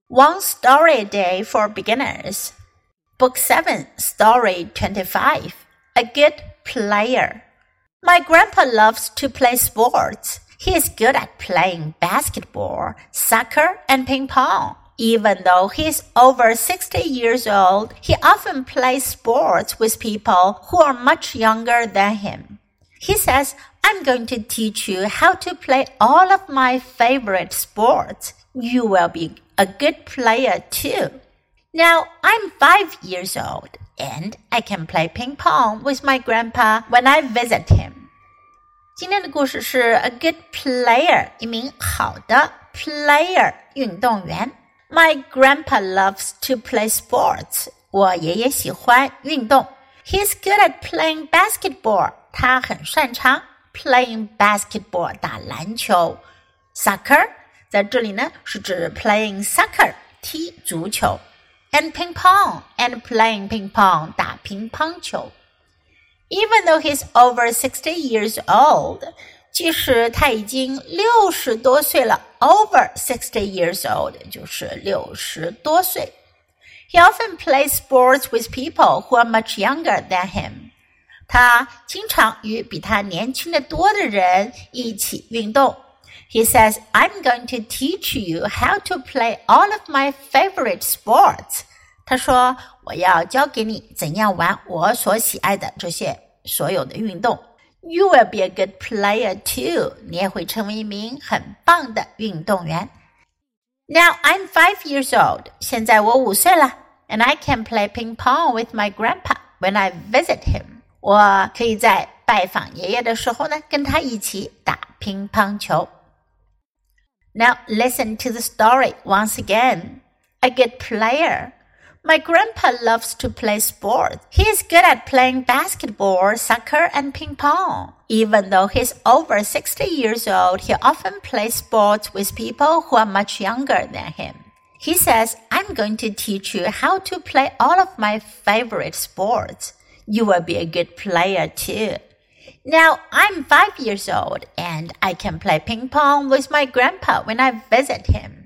One Story a Day for Beginners. Book 7, Story 25. A Good Player. My grandpa loves to play sports. He is good at playing basketball, soccer, and ping pong. Even though he is over 60 years old, he often plays sports with people who are much younger than him. He says, I'm going to teach you how to play all of my favorite sports. You will be a good player too. Now, I'm 5 years old, and I can play ping pong with my grandpa when I visit him. 今天的故事是 A Good Player, 一名好的 player, 运动员。My grandpa loves to play sports. 我爷爷喜欢运动。He's good at playing basketball. 他很擅长 playing basketball, 打篮球。Soccer, 在这里呢是指 playing soccer, 踢足球。And ping pong, and playing ping pong, 打乒乓球。Even though he's over 60 years old, 即使他已经60多岁了 over 60 years old, 就是60多岁。He often plays sports with people who are much younger than him. 他经常与比他年轻的多的人一起运动。He says, I'm going to teach you how to play all of my favorite sports. 他说，我要教给你怎样玩我所喜爱的这些所有的运动。You will be a good player too. 你也会成为一名很棒的运动员。Now I'm 5 years old. 现在我5岁了。And I can play ping pong with my grandpa when I visit him. 我可以在拜访爷爷的时候呢，跟他一起打乒乓球。Now listen to the story once again. A good player.My grandpa loves to play sports. He is good at playing basketball, soccer, and ping pong. Even though he's over 60 years old, he often plays sports with people who are much younger than him. He says, I'm going to teach you how to play all of my favorite sports. You will be a good player too. Now, I'm 5 years old, and I can play ping pong with my grandpa when I visit him.